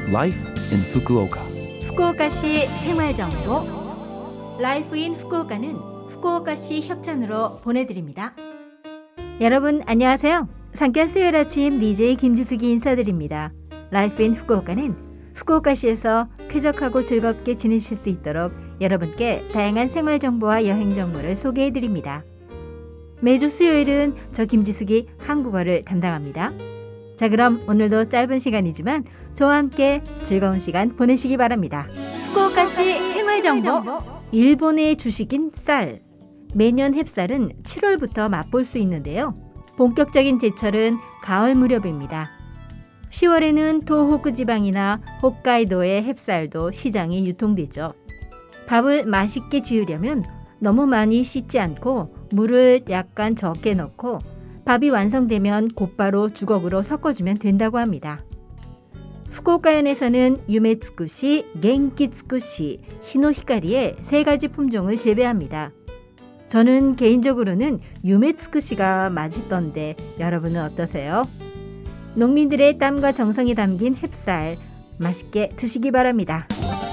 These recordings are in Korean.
Life in Fukuoka. 후쿠오카시 생활정보 라이프 인 후쿠오카는 후쿠오카시 협찬으로 보내드립니다. 여러분 안녕하세요. 상쾌한 수요일 아침 DJ 김지숙이 인사드립니다. 라이프 인 후쿠오카는 후쿠오카시에서 쾌적하고 즐겁게 지내실 수 있도록 여러분께 다양한 생활정보와 여행정보를 소개해드립니다. 매주 수요일은 저 김지숙이 한국어를 담당합니다. 자, 그럼 오늘도 짧은 시간이지만 저와 함께 즐거운 시간 보내시기 바랍니다. 후쿠오카시 생활정보. 일본의 주식인 쌀. 매년 햅쌀은 7월부터 맛볼 수 있는데요. 본격적인 제철은 가을 무렵입니다. 10월에는 도호쿠 지방이나 홋카이도의 햅쌀도 시장에 유통되죠. 밥을 맛있게 지으려면 너무 많이 씻지 않고 물을 약간 적게 넣고 밥이 완성되면 곧바로 주걱으로 섞어주면 된다고 합니다. 후쿠오카현에서는 유메츠쿠시, 겐키츠쿠시, 히노히카리의 세 가지 품종을 재배합니다. 저는 개인적으로는 유메츠쿠시가 맛있던데 여러분은 어떠세요? 농민들의 땀과 정성이 담긴 햅쌀 맛있게 드시기 바랍니다.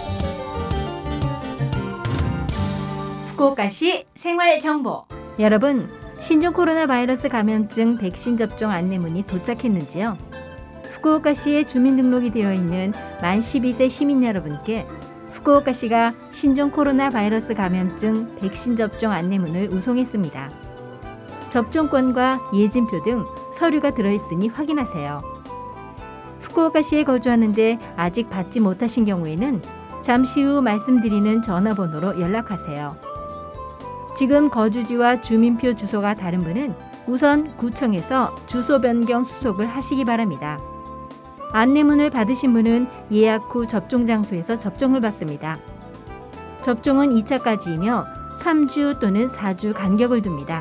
후쿠오카시 생활정보. 여러분, 신종 코로나 바이러스 감염증 백신 접종 안내문이 도착했는지요? 후쿠오카시에 주민등록이 되어 있는 만 12세 시민 여러분께 후쿠오카시가 신종 코로나 바이러스 감염증 백신 접종 안내문을 우송했습니다. 접종권과 예진표 등 서류가 들어있으니 확인하세요. 후쿠오카시에 거주하는데 아직 받지 못하신 경우에는 잠시 후 말씀드리는 전화번호로 연락하세요. 지금 거주지와 주민표 주소가 다른 분은 우선 구청에서 주소 변경 수속을 하시기 바랍니다. 안내문을 받으신 분은 예약 후 접종 장소에서 접종을 받습니다. 접종은 2차까지이며 3주 또는 4주 간격을 둡니다.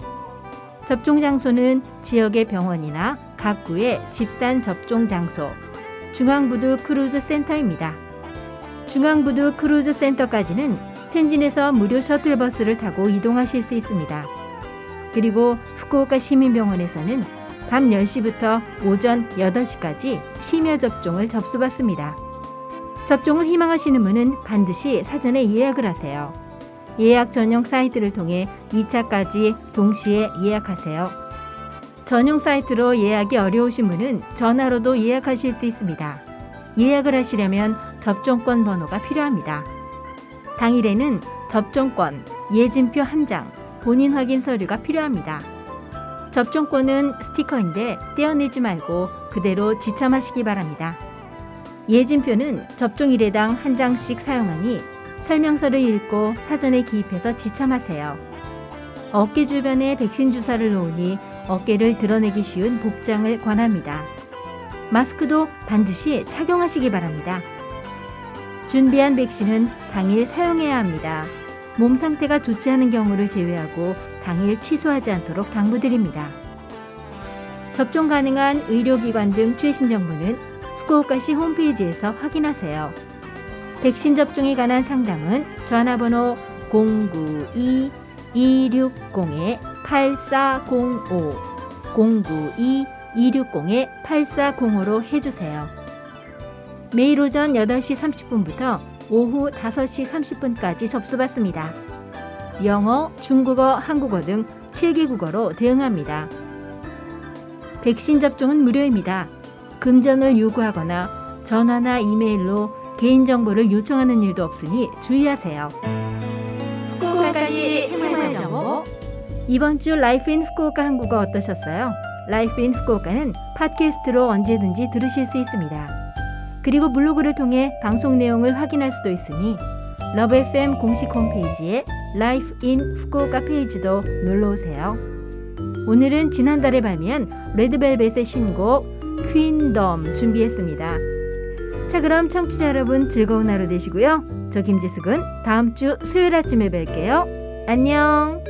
접종 장소는 지역의 병원이나 각 구의 집단 접종 장소, 중앙부두 크루즈 센터입니다. 중앙부두 크루즈 센터까지는 텐진에서 무료 셔틀버스를 타고 이동하실 수 있습니다. 그리고 후쿠오카 시민병원에서는 밤 10시부터 오전 8시까지 심야 접종을 접수받습니다. 접종을 희망하시는 분은 반드시 사전에 예약을 하세요. 예약 전용 사이트를 통해 2차까지 동시에 예약하세요. 전용 사이트로 예약이 어려우신 분은 전화로도 예약하실 수 있습니다. 예약을 하시려면 접종권 번호가 필요합니다. 당일에는 접종권, 예진표 1장, 본인 확인 서류가 필요합니다. 접종권은 스티커인데 떼어내지 말고 그대로 지참하시기 바랍니다. 예진표는 접종일에당 1장씩 사용하니 설명서를 읽고 사전에 기입해서 지참하세요. 어깨 주변에 백신 주사를 놓으니 어깨를 드러내기 쉬운 복장을 권합니다. 마스크도 반드시 착용하시기 바랍니다. 준비한 백신은 당일 사용해야 합니다. 몸 상태가 좋지 않은 경우를 제외하고 당일 취소하지 않도록 당부드립니다. 접종 가능한 의료기관 등 최신 정보는 후쿠오카시 홈페이지에서 확인하세요. 백신 접종에 관한 상담은 전화번호 092-260-8405, 092-260-8405로 해주세요. 매일 오전 8시 30분부터 오후 5시 30분까지 접수받습니다. 영어, 중국어, 한국어 등 7개 국어로 대응합니다. 백신 접종은 무료입니다. 금전을 요구하거나 전화나 이메일로 개인정보를 요청하는 일도 없으니 주의하세요. 후쿠오카시 생활정보. 이번 주 라이프 인 후쿠오카 한국어 어떠셨어요? 라이프 인 후쿠오카는 팟캐스트로 언제든지 들으실 수 있습니다. 그리고 블로그를 통해 방송 내용을 확인할 수도 있으니 러브 FM 공식 홈페이지에 라이프 인 후쿠오카 페이지도 놀러오세요. 오늘은 지난달에 발매한 레드벨벳의 신곡 퀸덤 준비했습니다. 자, 그럼 청취자 여러분 즐거운 하루 되시고요. 저 김지숙은 다음 주 수요일 아침에 뵐게요. 안녕.